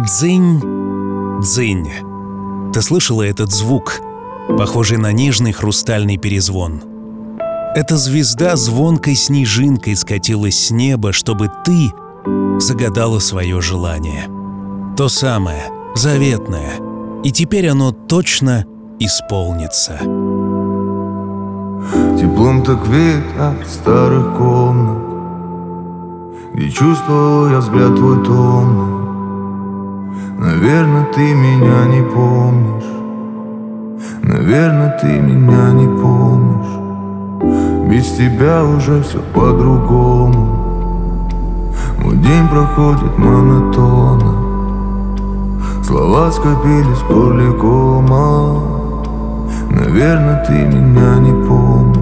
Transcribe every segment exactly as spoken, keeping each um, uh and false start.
Дзынь, дзынь. Ты слышала этот звук, похожий на нежный хрустальный перезвон? Эта звезда звонкой снежинкой скатилась с неба, чтобы ты загадала свое желание. То самое, заветное. И теперь оно точно исполнится. Теплом так веет от старых комнат, где чувствовал я взгляд твой томный. Наверное, ты меня не помнишь. Наверное, ты меня не помнишь. Без тебя уже все по-другому. Мой день проходит монотонно. Слова скопились в горле кома. Наверное, ты меня не помнишь.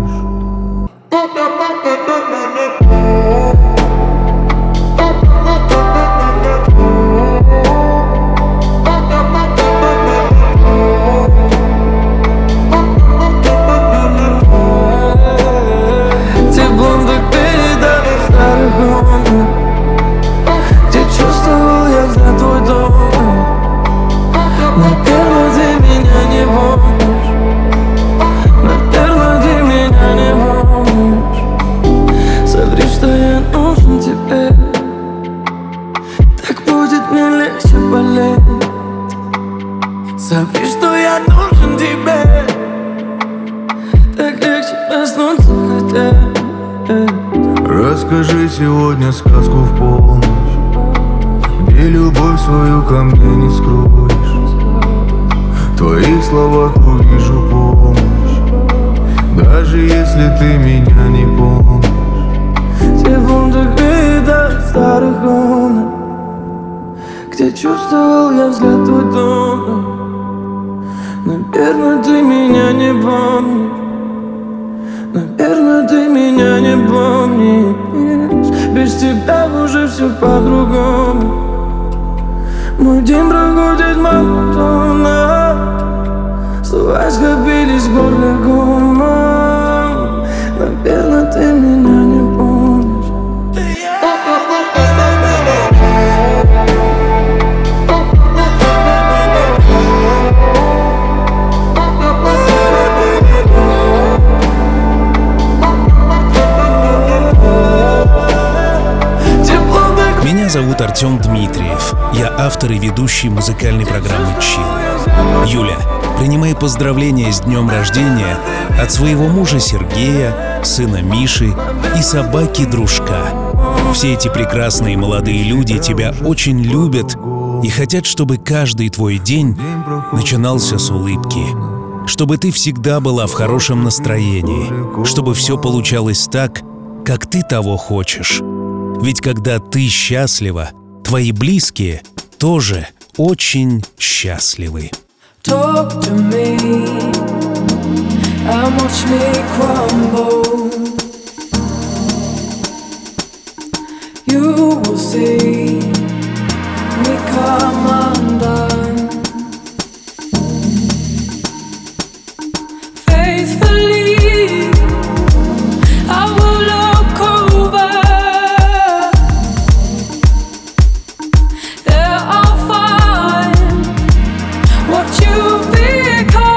Смотри, что я нужен тебе. Так легче проснуться хотя. Расскажи сегодня сказку в полночь, где любовь свою ко мне не скроешь. В твоих словах увижу помощь, даже если ты меня не помнишь. Теплом так веет от старых комнат, где чувствовал я взгляд твой томный. Наверное, ты меня не помнишь. Наверное, ты меня не помнишь. Без тебя уже все по-другому. Мой день проходит монотонно. Слова скопились в горле комом. Наверное, ты меня не помнишь. Меня зовут Артем Дмитриев. Я автор и ведущий музыкальной программы «Чил». Юля, принимай поздравления с днем рождения от своего мужа Сергея, сына Миши и собаки-дружка. Все эти прекрасные молодые люди тебя очень любят и хотят, чтобы каждый твой день начинался с улыбки. Чтобы ты всегда была в хорошем настроении. Чтобы все получалось так, как ты того хочешь. Ведь когда ты счастлива, твои близкие тоже очень счастливы. Talk to me and watch me crumble. You will see me come undone. Faithfully I will look over. You've become.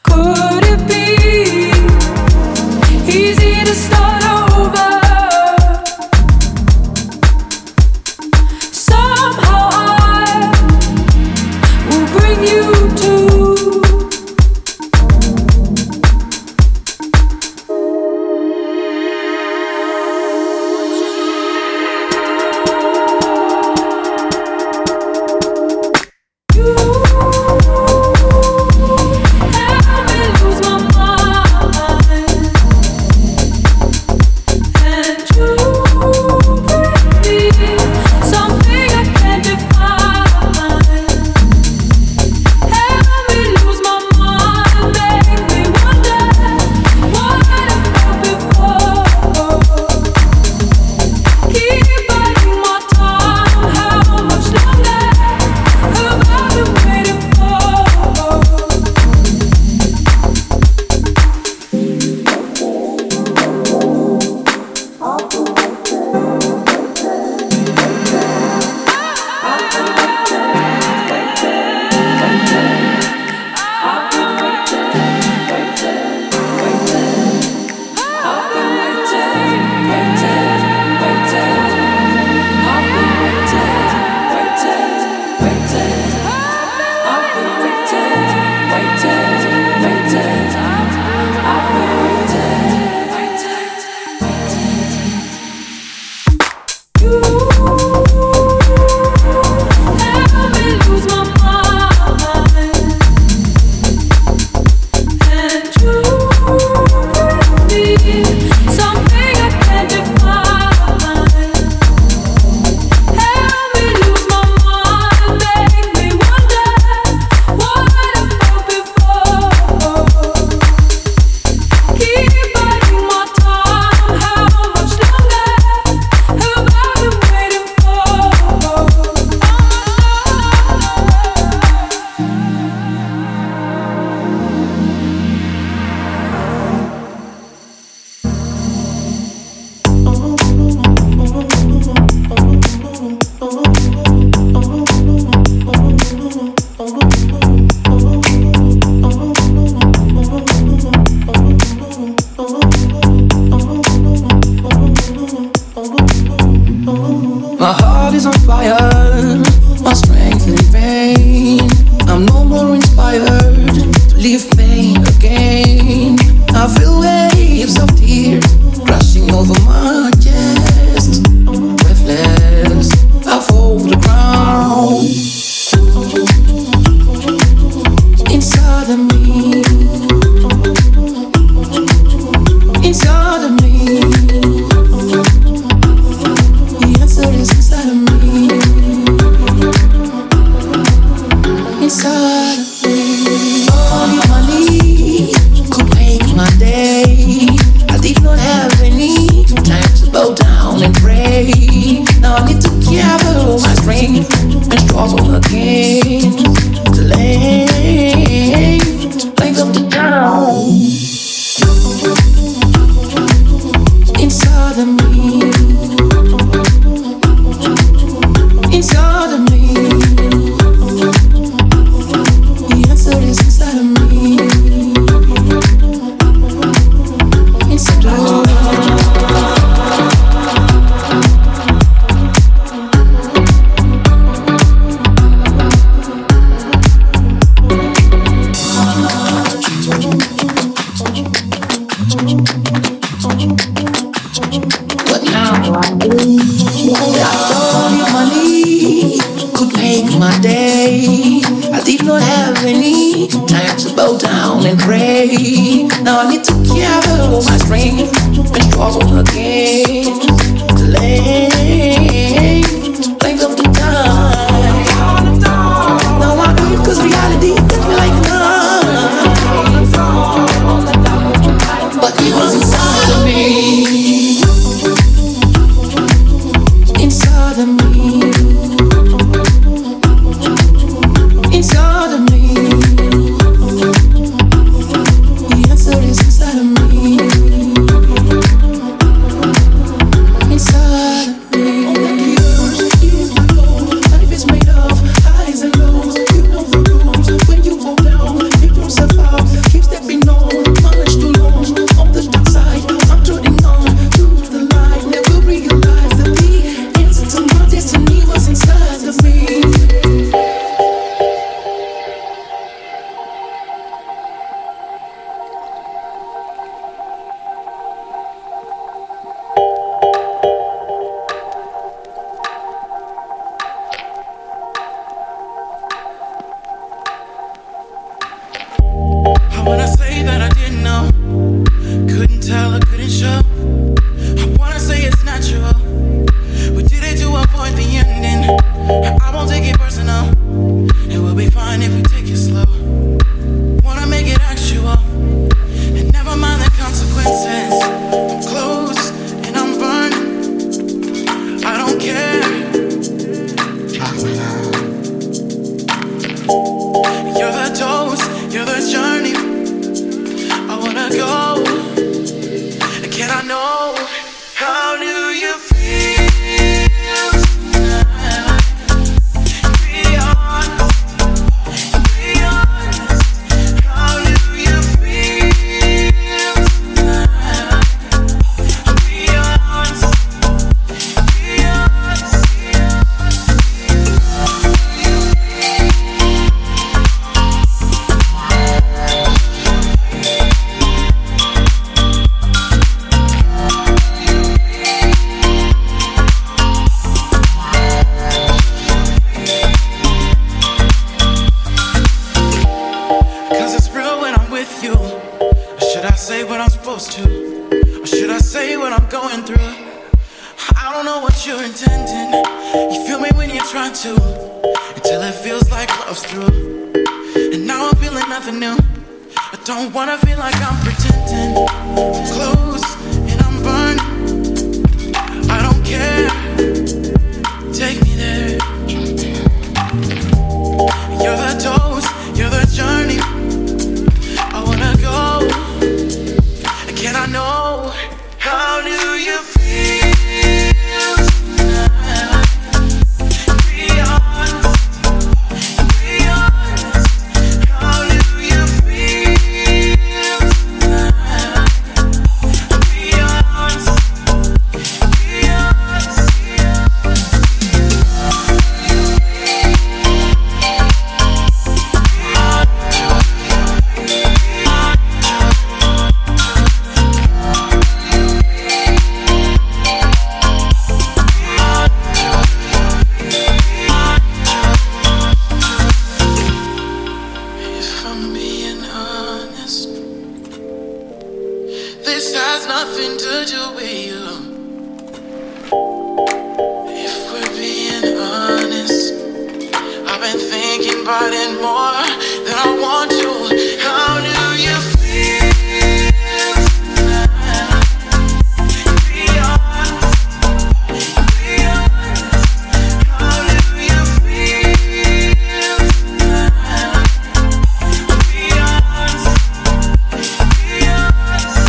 Could it be easy to start over? away. Now I need to gather all my strength and struggle again. Lay length of the time. Now I grieve cause reality hit me like a knife. But it was inside of me. Inside of me. Inside of me. The answer is inside of me. Inside of me. Life is made of highs and lows. You know the rules. When you fall down, you don't survive. Keep stepping on, much too long. On the dark side, I'm turning on to the light. Never realized that the answer to my destiny was inside of me. I wanna say that I didn't know, couldn't tell or couldn't show. I wanna say it's natural, we did it to avoid the ending. I won't take it personal, it will be fine if we take it slow. Wanna make it actual, and never mind the consequences. I'm close and I'm burning, I don't care. You're the dose, you're the journey. I wanna go. Can I know, how do you feel tonight? Be honest, be honest. How do you feel tonight? Be honest, be honest. Cause it's real when I'm with you. Or should I say what I'm supposed to? Or should I say what I'm going through? I don't know what you're intending. You feel me when you're trying to, until it feels like love's through. And now I'm feeling nothing new. I don't wanna feel like I'm pretending. I'm close and I'm burning, I don't care. Take me there. You're the dose, you're the journey. I wanna go. Can I know, how do you feel tonight? Be honest, be honest. How do you feel tonight? Be honest, be honest. If I'm being honest, this has nothing to do with you. If we're being honest, I've been thinking about it more than I want to. How do you feel tonight? Be honest, be honest. How do you feel tonight? Be honest, be honest.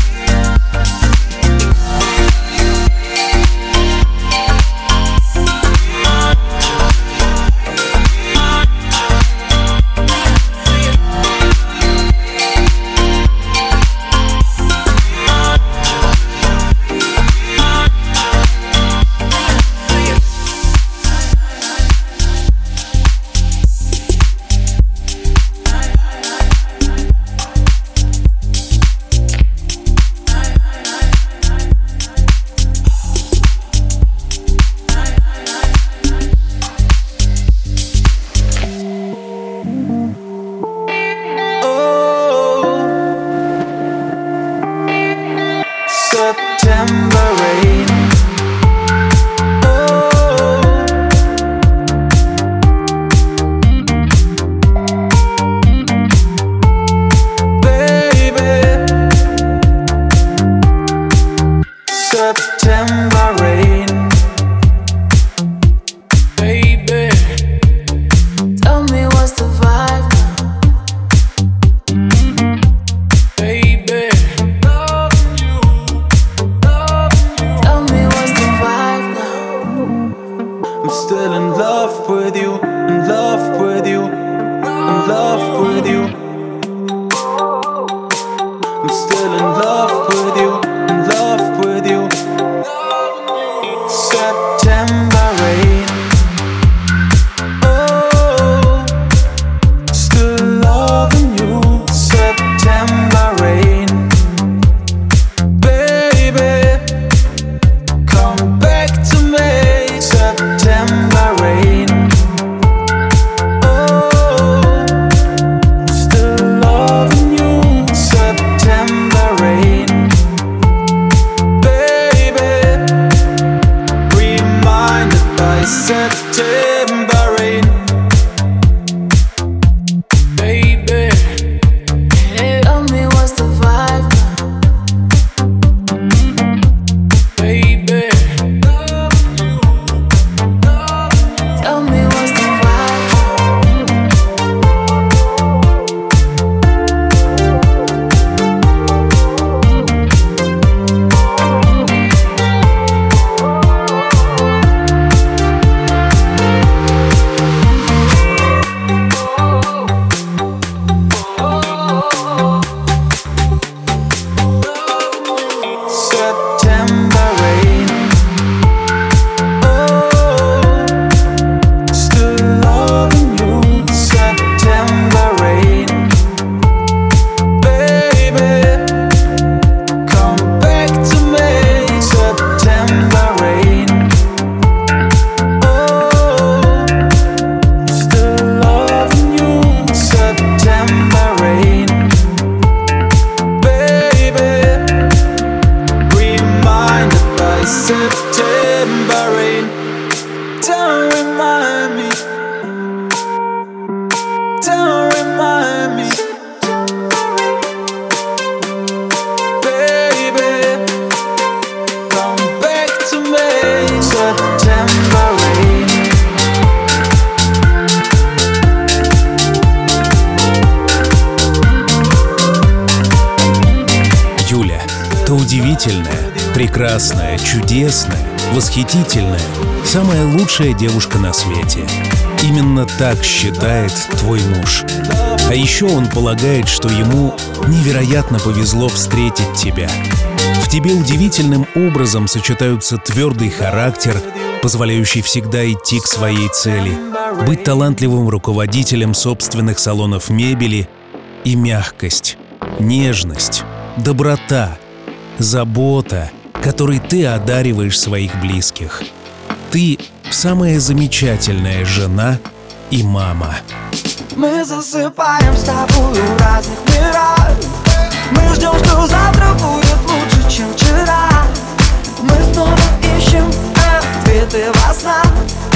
то удивительная, прекрасная, чудесная, восхитительная, самая лучшая девушка на свете. Именно так считает твой муж. А еще он полагает, что ему невероятно повезло встретить тебя. В тебе удивительным образом сочетаются твердый характер, позволяющий всегда идти к своей цели, быть талантливым руководителем собственных салонов мебели, и мягкость, нежность, доброта, забота, которой ты одариваешь своих близких. Ты самая замечательная жена и мама. Мы засыпаем с тобой в разных мирах. Мы ждем, что завтра будет лучше, чем вчера. Мы снова ищем ответы во снах.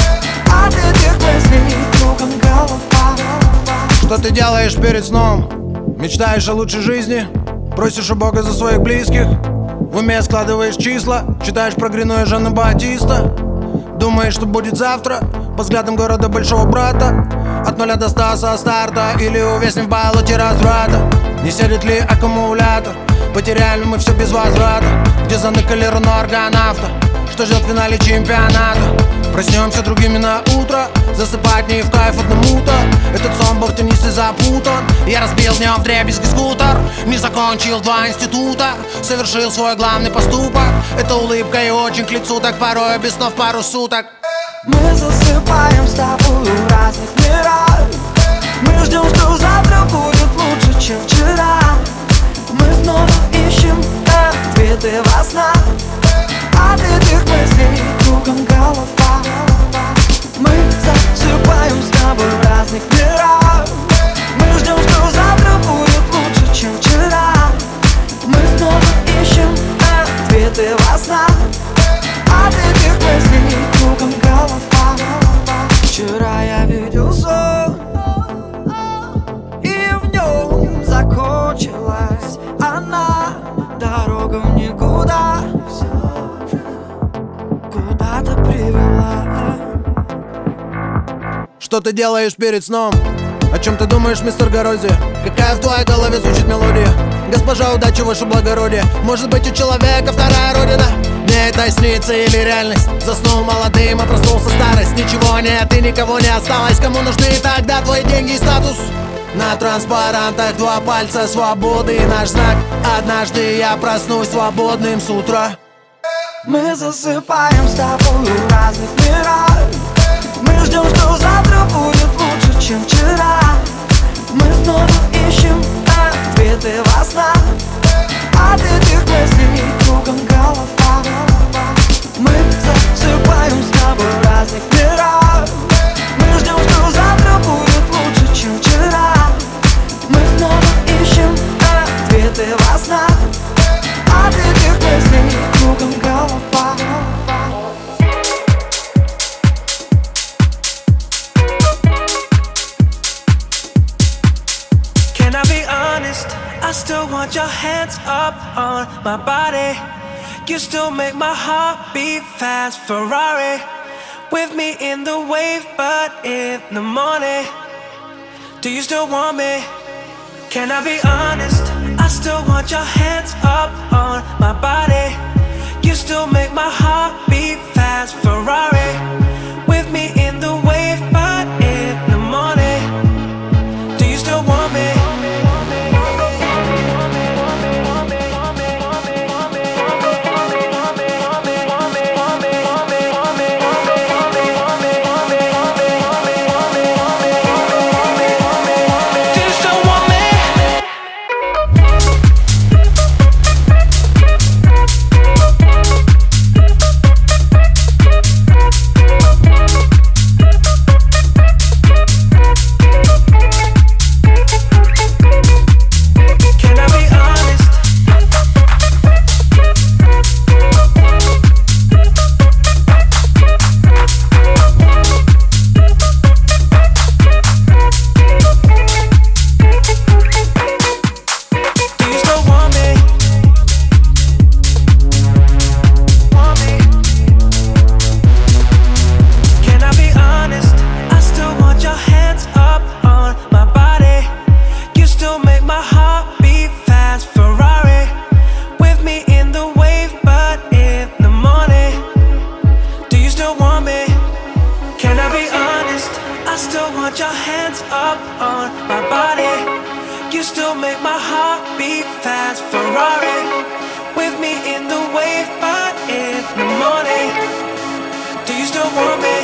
От этих мыслей кругом голова. Что ты делаешь перед сном? Мечтаешь о лучшей жизни? Просишь у Бога за своих близких? В уме складываешь числа, читаешь про Грину и Жана Батиста. Думаешь, что будет завтра? По взглядам города большого брата. От нуля до ста со старта. Или увязнем в болоте разврата. Не сядет ли аккумулятор? Потеряли мы все без возврата. Где заныкали руну аргонавта? Что ждет в финале чемпионата? Проснемся другими на утро. Засыпать не в кайф одному-то. Этот сон был теннистой запутан. Я разбил днем вдребезги скутер. Не закончил два института. Совершил свой главный поступок. Это улыбка и очень к лицу. Так порой без снов пару суток. Мы засыпаем с тобой в разных мирах. Мы ждем, что завтра будет лучше, чем вчера. Мы снова ищем ответы во снах. От этих мыслей кругом голова. Мы засыпаем с тобой в разных мирах. Мы ждем, что завтра будет лучше, чем вчера. Мы снова ищем ответы во снах. От этих мыслей кругом голова. Вчера я видел сон, и в нем закончилась она. Дорога в никуда куда-то привела. Что ты делаешь перед сном? О чем ты думаешь, мистер Горозия? Какая в твоей голове звучит мелодия? Госпожа, удачи, ваше благородие. Может быть, у человека вторая родина? Мне это снится или реальность? Заснул молодым, а проснулся старость. Ничего нет и никого не осталось. Кому нужны тогда твои деньги и статус? На транспарантах два пальца свободы и наш знак. Однажды я проснусь свободным с утра. Мы засыпаем с тобой в разных мирах. Мы ждем, что завтра будет лучше, чем вчера. Мы снова ищем ответы во снах. От этих мыслей кругом голова. Мы засыпаем с тобой в разных мирах. Мы ждем, что завтра будет лучше, чем вчера. Мы снова ищем ответы во снах. От этих мыслей кругом голова. Can I be honest? I still want your hands up on my body. You still make my heart beat fast. Ferrari with me in the wave, but in the morning. Do you still want me? Can I be honest? I still want your hands up on my body. You still make my heart beat fast. Ferrari with me in the wave, but in the morning. Do you still want me? want me.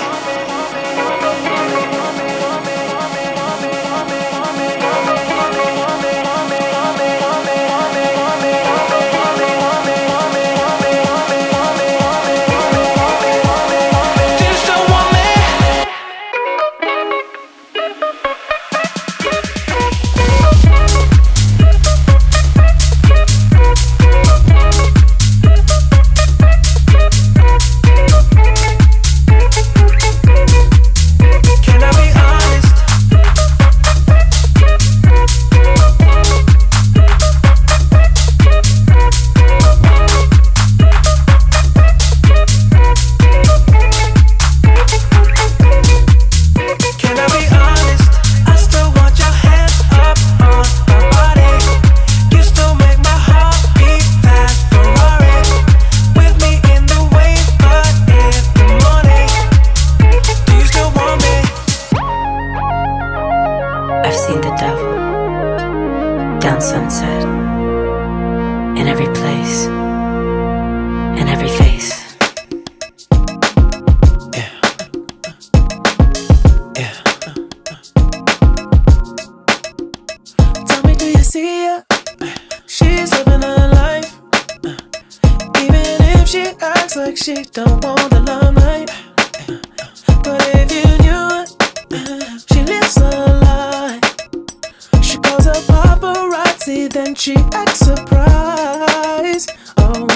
She don't want the limelight, but if you knew it, she lives a lie. She calls her paparazzi, then she acts surprised. Oh,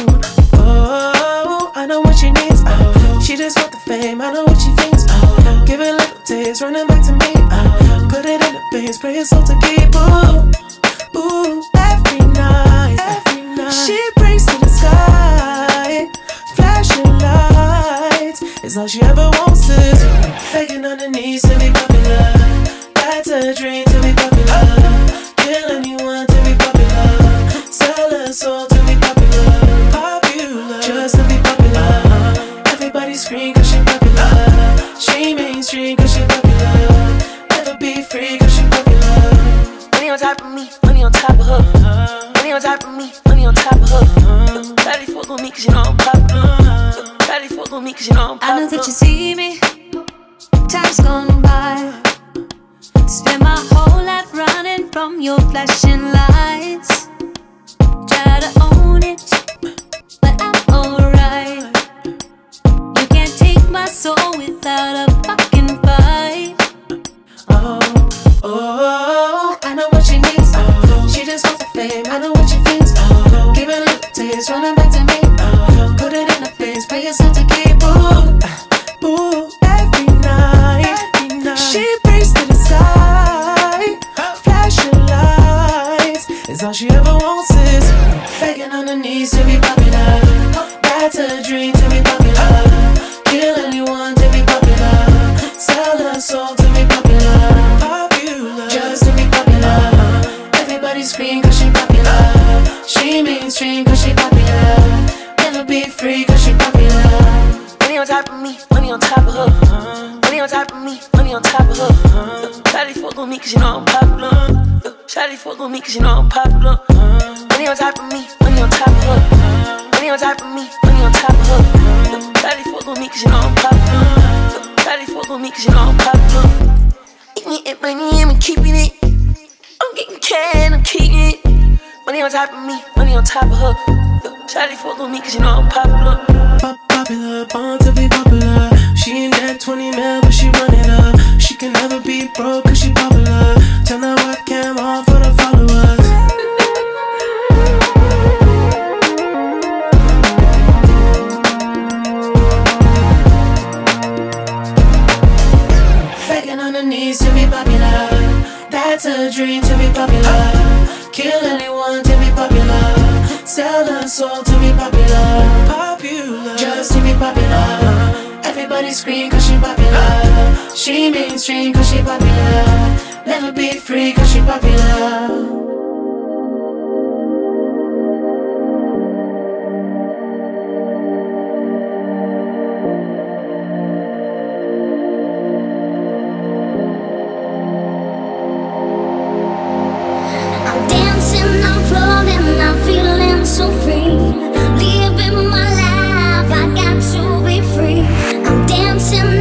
oh, I know what she needs. Oh, she just want the fame, I know what she thinks. Oh, give it a little taste, running back to me. Oh, put it in the face, pray it's all to keep. Ooh, ooh, every night, every night she prays to the sky. Flashing lights is all she ever wants is begging on her knees to be popular. That's a dream to be popular. Kill anyone to be popular. Sell her soul to be popular. Popular, just to be popular. Everybody scream cause she popular. She mainstream cause she popular. Never be free cause she popular. Money on top of me, money on top of her. Money on top of me, money on top of her. Daddy fuck on me cause you know I'm popular. Daddy fuck on me cause you know I'm popular. I know that you see me, time's gone by. Spend my whole life running from your flashing lights. Try to own it, but I'm alright. You can't take my soul without a fucking fight. Oh, oh, I know what she needs. Oh, she just wants the fame, I know what she thinks. Oh, give it a little taste, running back to me. Oh, put it in the face, pay yourself to keep. Ooh, ooh, every night, every night she prays to the sky. Flashing lights is all she ever wants is begging on her knees to be popular. That's a dream to be popular. Kill anyone to be popular. Sell her soul to be popular. Popular, just to be popular. Everybody scream cause she popular. She mainstream cause she popular. Never be free cause she popular. Money on top of me, money on top of her. Money on top of me, money on top of her. Shawty fuck on me cause you know I'm popular. Shawty fuck on me cause you know I'm popular. Money on top of me, money on top of her. Money on top of me, money on top of her. Shawty fuck on me cause you know I'm popular. Shawty fuck on me cause you know I'm popular. Eating it, money, I'm keeping it. I'm getting cash, I'm keeping it. Money on top of me, money on top of her. Shawty fuck on me cause you know I'm popular. Popular, born to be popular. She ain't that twenty mil, but she run it up. She can never be broke cause she popular. Turn that webcam on for the followers. Begging on her knees to be popular. That's a dream to be popular. Kill anyone to be popular. Sell her soul to be popular. Popular, just to be popular. Everybody scream cause she popular. She mainstream cause she popular. Never be free cause she popular. So free, living my life, I got to be free. I'm dancing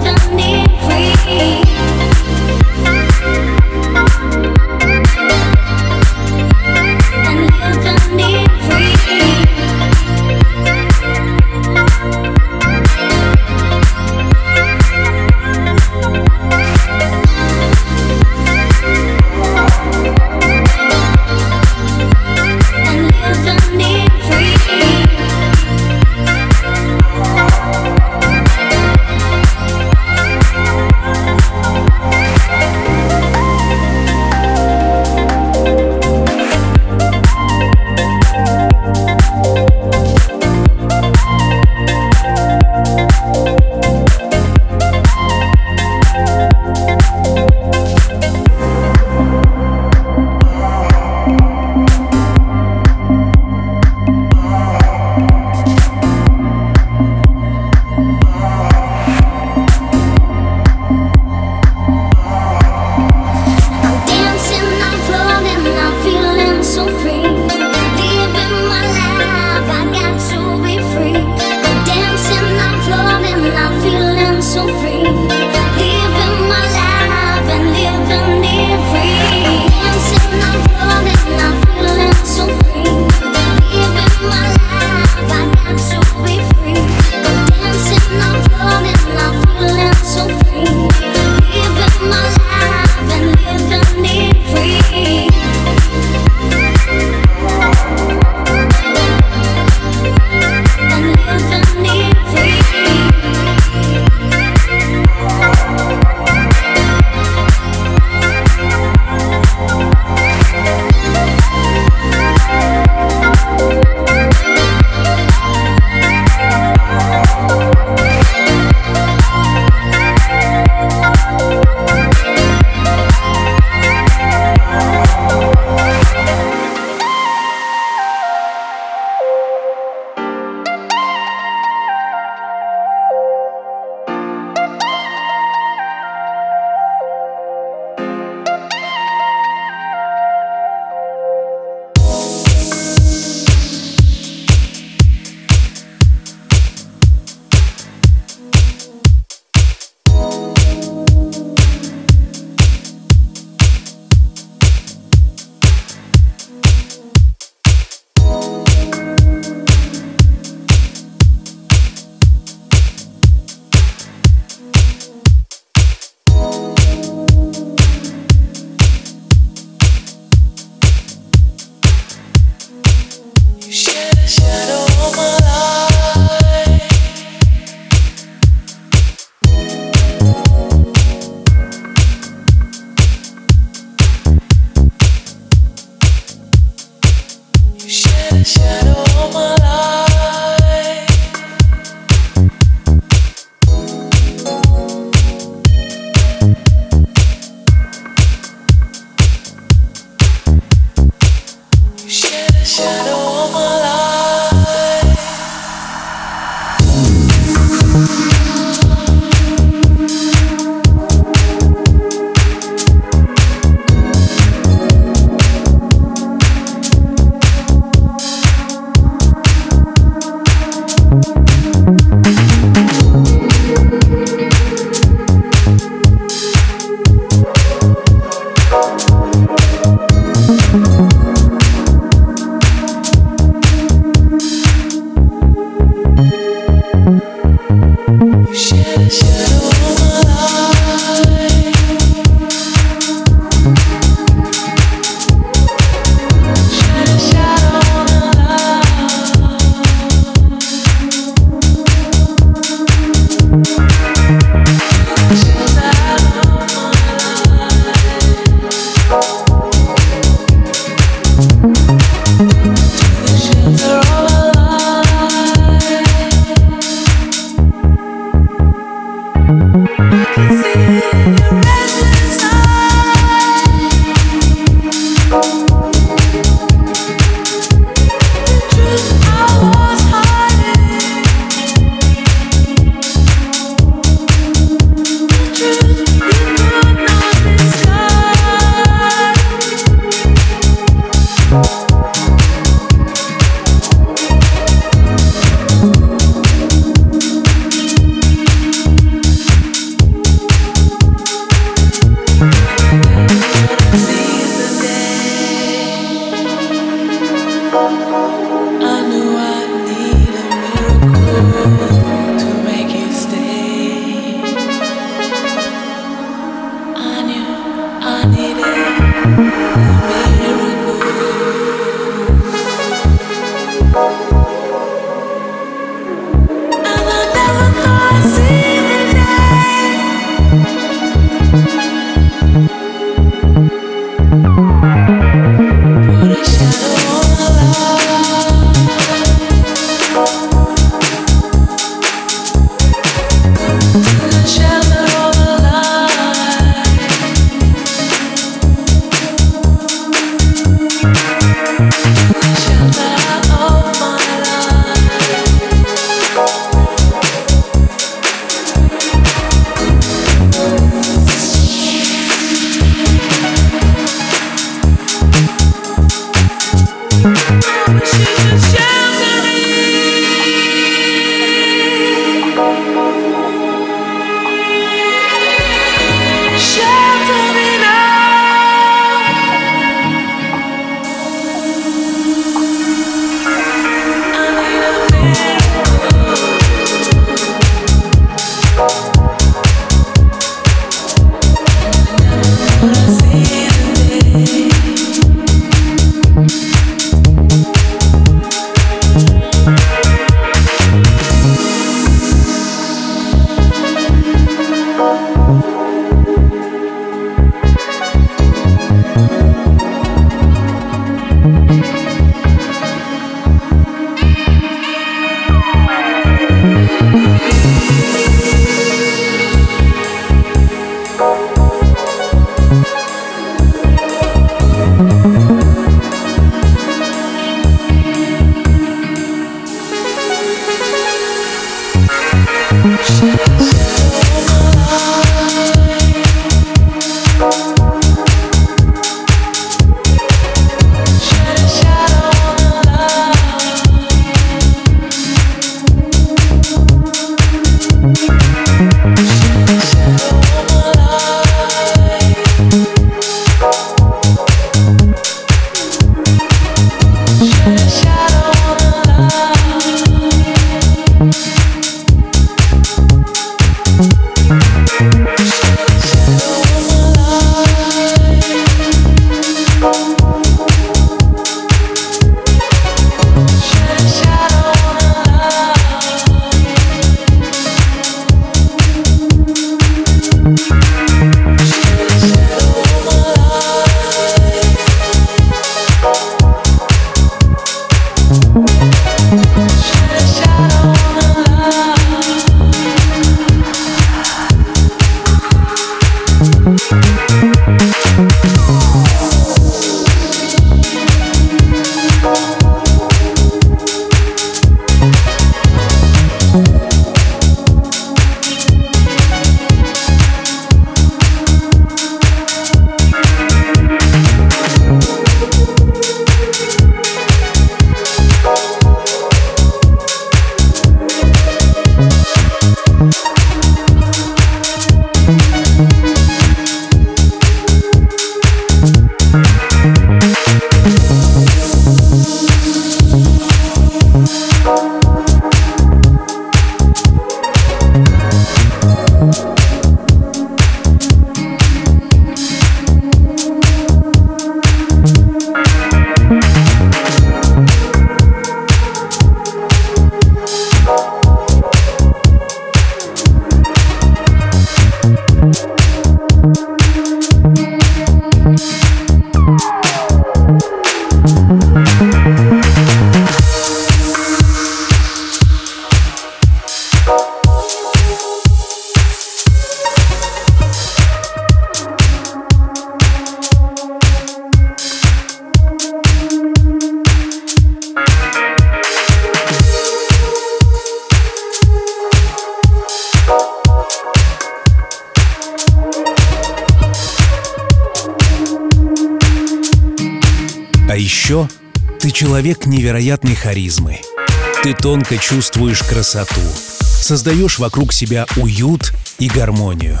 еще ты человек невероятной харизмы. Ты тонко чувствуешь красоту, создаешь вокруг себя уют и гармонию.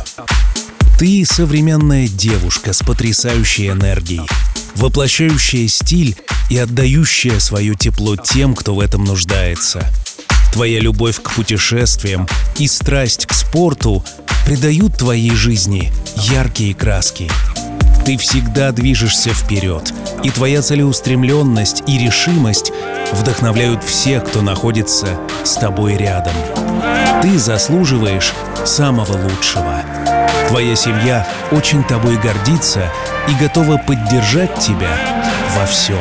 Ты современная девушка с потрясающей энергией, воплощающая стиль и отдающая свое тепло тем, кто в этом нуждается. Твоя любовь к путешествиям и страсть к спорту придают твоей жизни яркие краски. Ты всегда движешься вперед, и твоя целеустремленность и решимость вдохновляют всех, кто находится с тобой рядом. Ты заслуживаешь самого лучшего. Твоя семья очень тобой гордится и готова поддержать тебя во всем.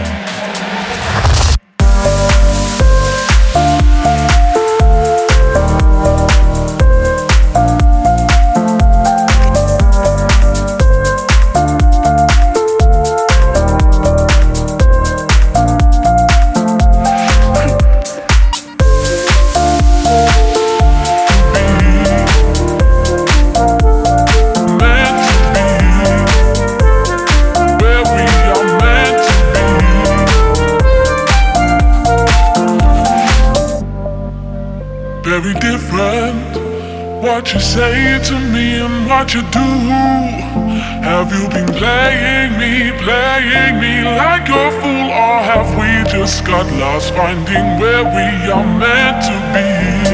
Very different, what you say to me and what you do. Have you been playing me, playing me like a fool? Or have we just got lost finding where we are meant to be?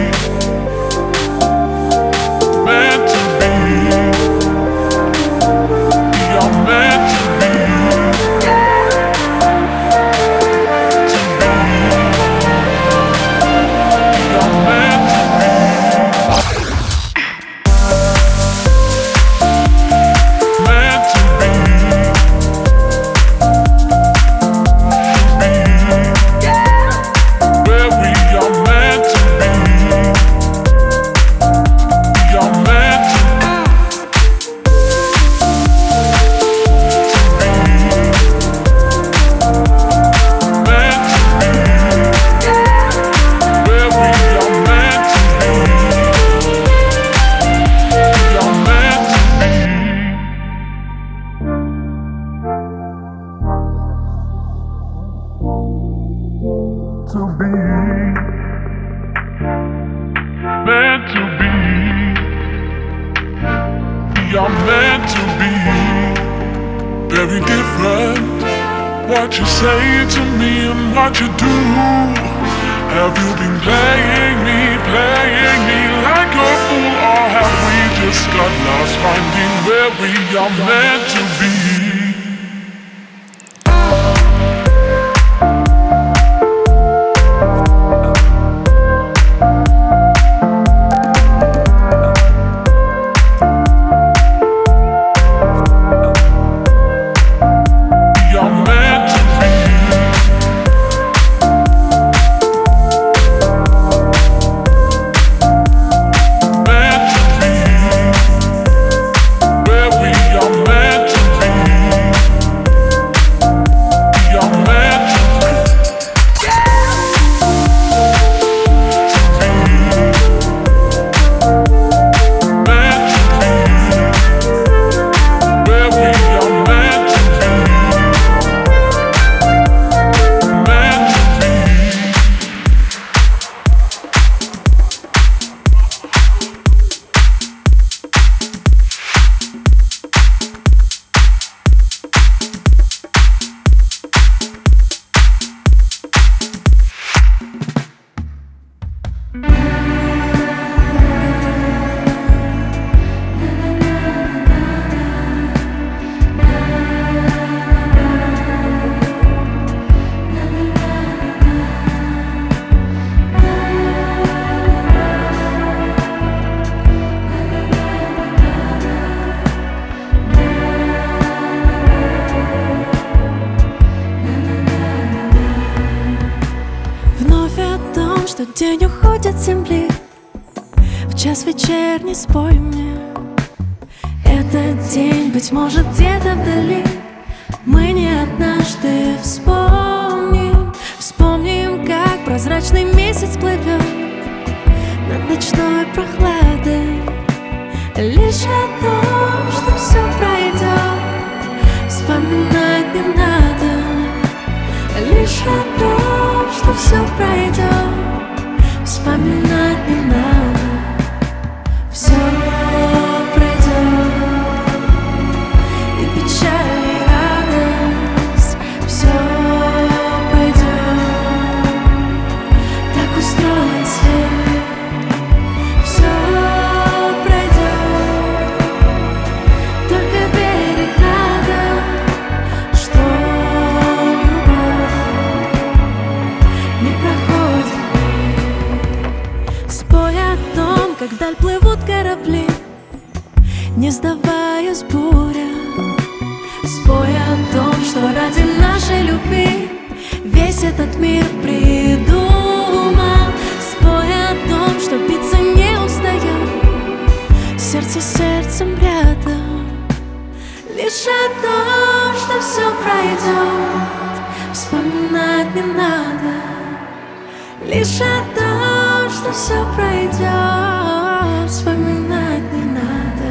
Meant to be. We are meant to be. To be. We are meant to what you say to me and what you do. Have you been playing me, playing me like a fool? Or have we just got lost finding where we are meant to be? День уходит с земли, в час вечерний спой мне. Этот день, быть может, где-то вдали мы не однажды вспомним. Вспомним, как прозрачный месяц плывет над ночной прохладой. Лишь о том, что все пройдет, вспоминать не надо. Лишь о том, что все пройдет, вспоминать не надо. Все пройдет, и печаль, и радость. Все пройдет, так устроен свет. Все пройдет, только ради нашей любви весь этот мир придумал. Спой о том, что биться не устает, сердце с сердцем рядом. Лишь о том, что все пройдет, вспоминать не надо. Лишь о том, что все пройдет, вспоминать не надо.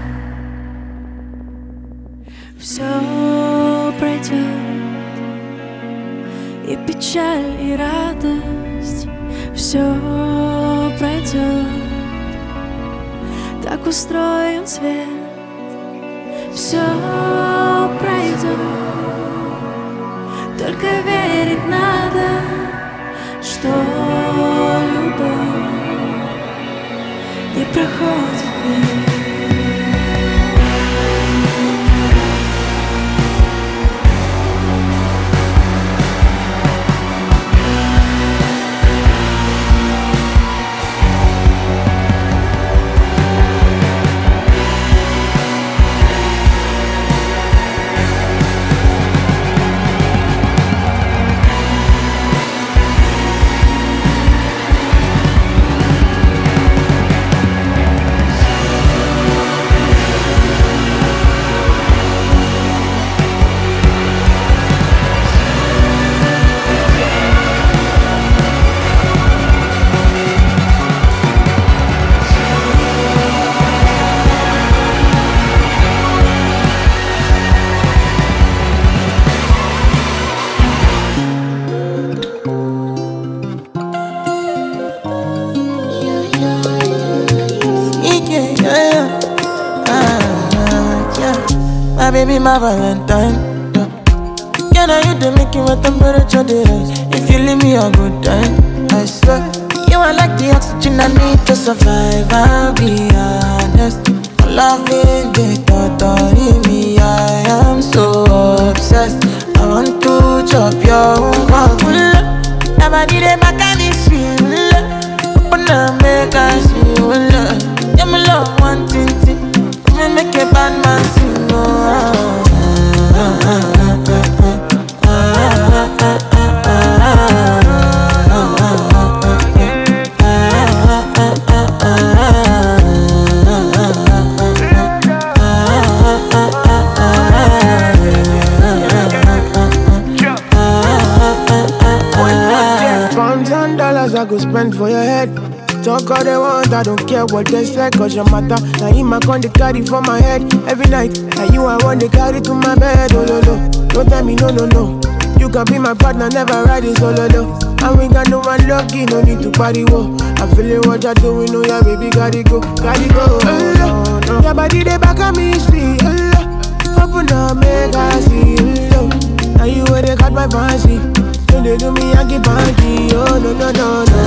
Все пройдет, и печаль, и радость. Все пройдет, так устроен свет. Все пройдет, только верить надо, что любовь не проходит мимо. Baby, my Valentine. Yeah, now you the making my temperature rise. If you leave me a good time, I swear you are like the oxygen I need to survive. I'll be honest, loving the thought of me. I am so obsessed. I want to chop your heart. Never did it back at this shit. Open up, make us feel love. Yeah, my love, one thing, me make a bad man sing. Pounds and dollars I go spend for your head. Talk all they want, I don't care what they say, cause your matter. Now in my con they carry for my head every night. Now you I want they carry to my bed, oh no no. Don't tell me no no no. You can be my partner, never ride it solo though. And we got no one lucky, no need to party, whoa. I'm feeling what you're doing, oh yeah baby, gotta go, gotta go. Oh, no. Your body they back at me, see, oh, open up, make I see, oh. Now you where they got my fancy. When they do me, I get banky, oh no no no no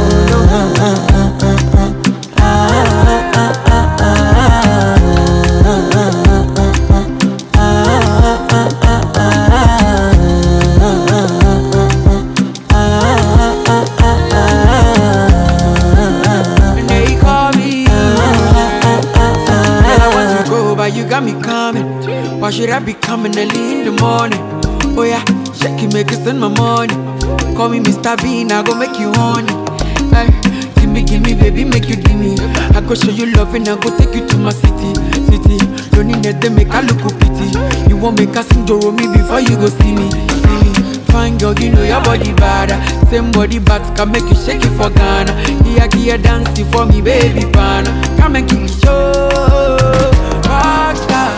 you got me coming. Why should I be coming early in the morning? Oh yeah, shake it, make it send my money. Call me Mister Bean, I go make you honey. Hey, give me, give me, baby, make you give me. I go show you love and I go take you to my city, city. Don't need them, make I look pity. You won't make us sing Doro me before you go see me, see me. Fine girl, you know your body bad. Same body but can make you shake it for Ghana. Here, here, dancing for me, baby, pana. Come and give me show. Rockstar.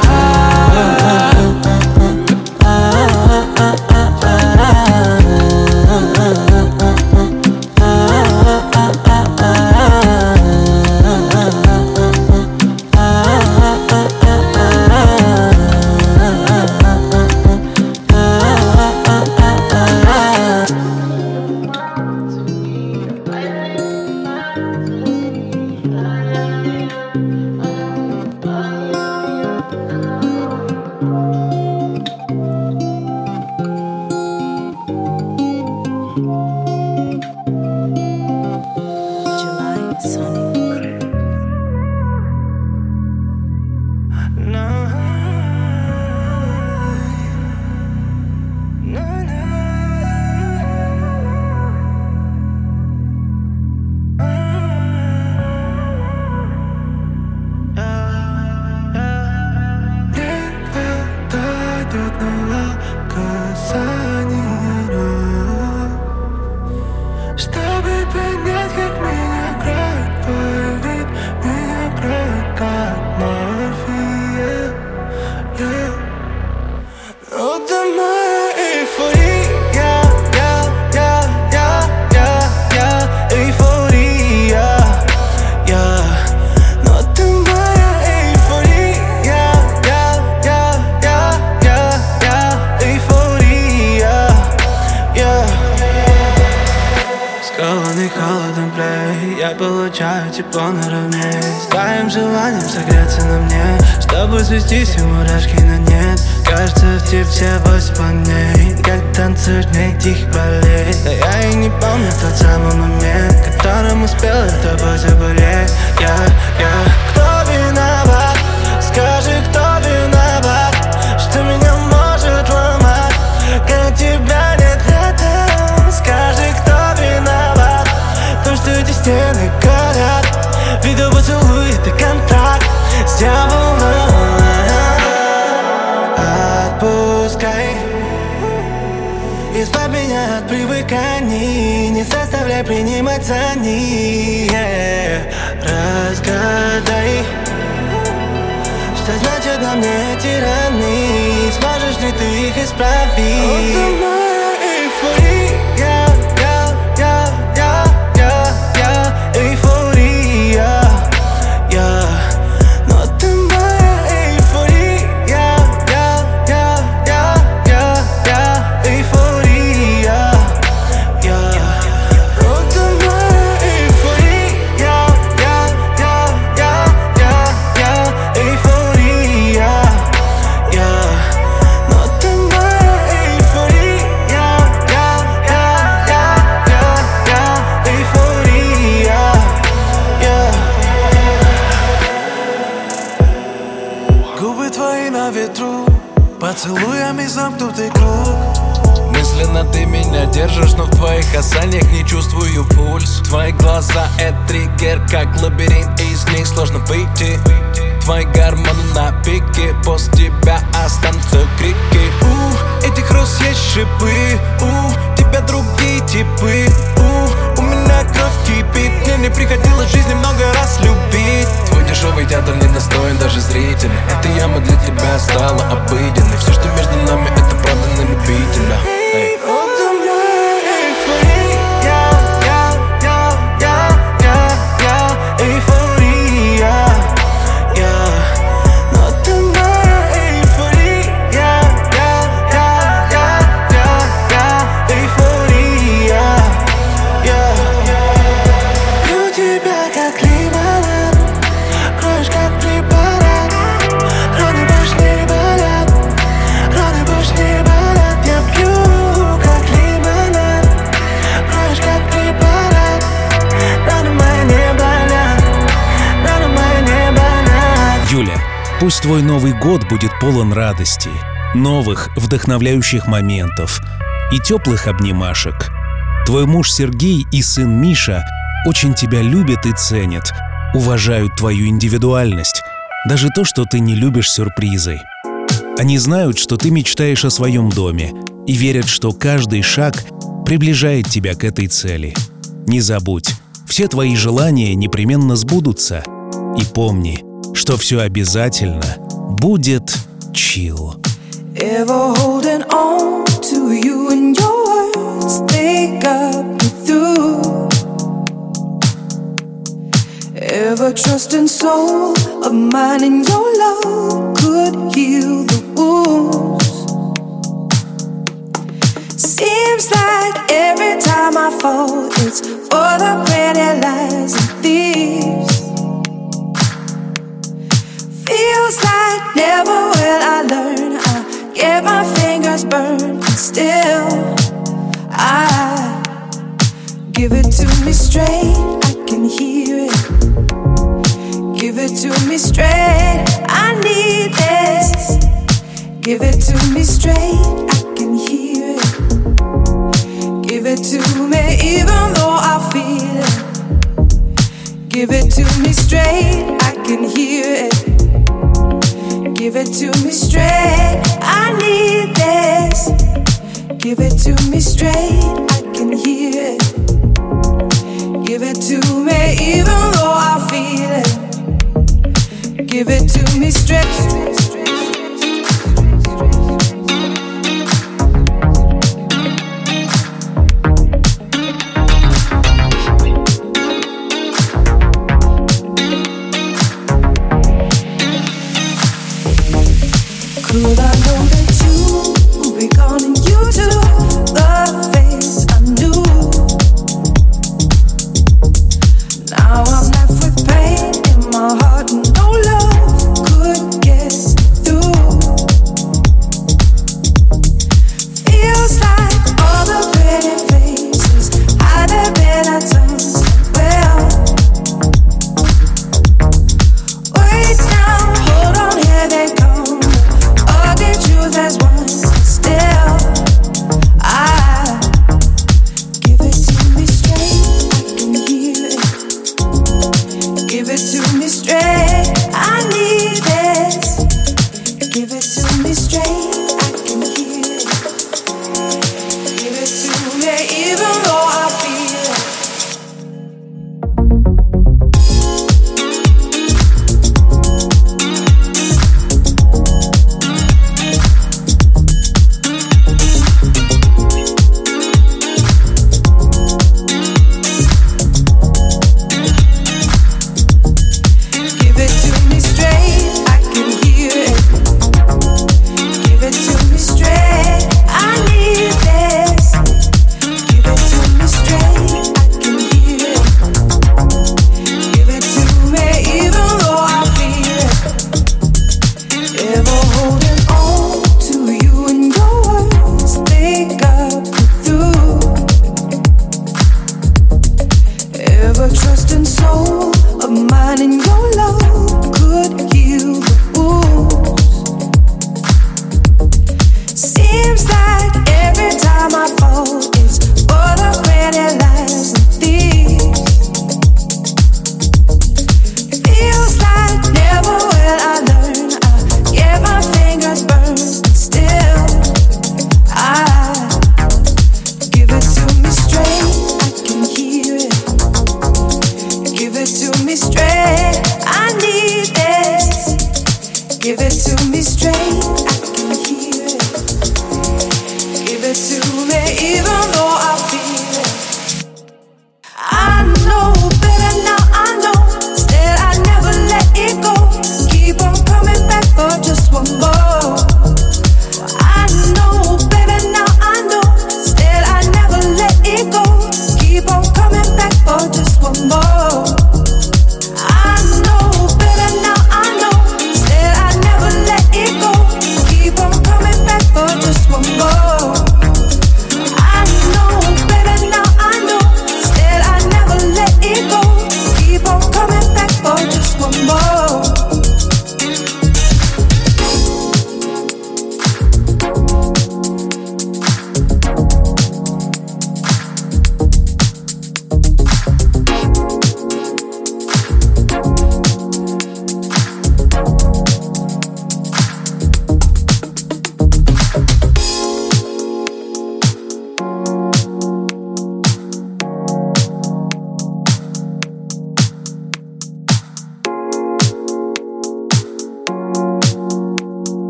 я получаю тепло наравне с твоим желанием согреться на мне, чтобы свести все мурашки на нет. Кажется, в тебе все восемь планет, как танцуешь мне тихих болей. Да я и не помню тот самый момент, которым успел с тобой заболеть. Я, я, кто виноват? Скажи, кто виноват, что меня может ломать, когда тебя нет рядом? Скажи, кто виноват, то, что эти стены горят, видео поцелуй, это контракт с дьяволом. Отпускай, избавь меня от привыканий, не заставляй принимать за них. Разгадай, что значит на мне эти раны, сможешь ли ты их исправить? Это моя эйфория, я, я, я, я, я, эйфория, я. Но ты моя эйфория, я, я, я, я, я, эйфория, я. Но ты моя эйфория, я, я, я, я, я, эйфория, я. Но ты моя эйфория, я, я, я, я, эйфория, я. Губы твои на ветру, поцелуями замкнутый круг. Мысленно ты меня держишь, но в твоих касаниях не чувствую пульс. Твои глаза — это триггер, как лабиринт, из них сложно выйти. Твои гормоны на пике, после тебя останутся крики. У, этих роз есть шипы, у тебя другие типы. У, у меня кровь кипит, мне не приходилось в жизни много раз любить. Твой дешевый театр не достоин даже зрителя. Эта яма для тебя стала обыденной. Все, что между нами, это правда на любителя. Эй. Пусть твой Новый год будет полон радости, новых вдохновляющих моментов и теплых обнимашек. Твой муж Сергей и сын Миша очень тебя любят и ценят, уважают твою индивидуальность, даже то, что ты не любишь сюрпризы. Они знают, что ты мечтаешь о своем доме и верят, что каждый шаг приближает тебя к этой цели. Не забудь, все твои желания непременно сбудутся. И помни, что все обязательно будет чил. Ever holding on to you and your words, they got me through. Ever trusting soul of mine and your love could heal the wounds. Seems like every time I fall, it's for the pretty lies and thieves. Feels like never will I learn. I get my fingers burned, and still I give it to me straight. I can hear it. Give it to me straight. I need this. Give it to me straight. I can hear it. Give it to me even though I feel it. Give it to me straight. I can hear it. Give it to me straight, I need this. Give it to me straight, I can hear it. Give it to me even though I feel it. Give it to me straight.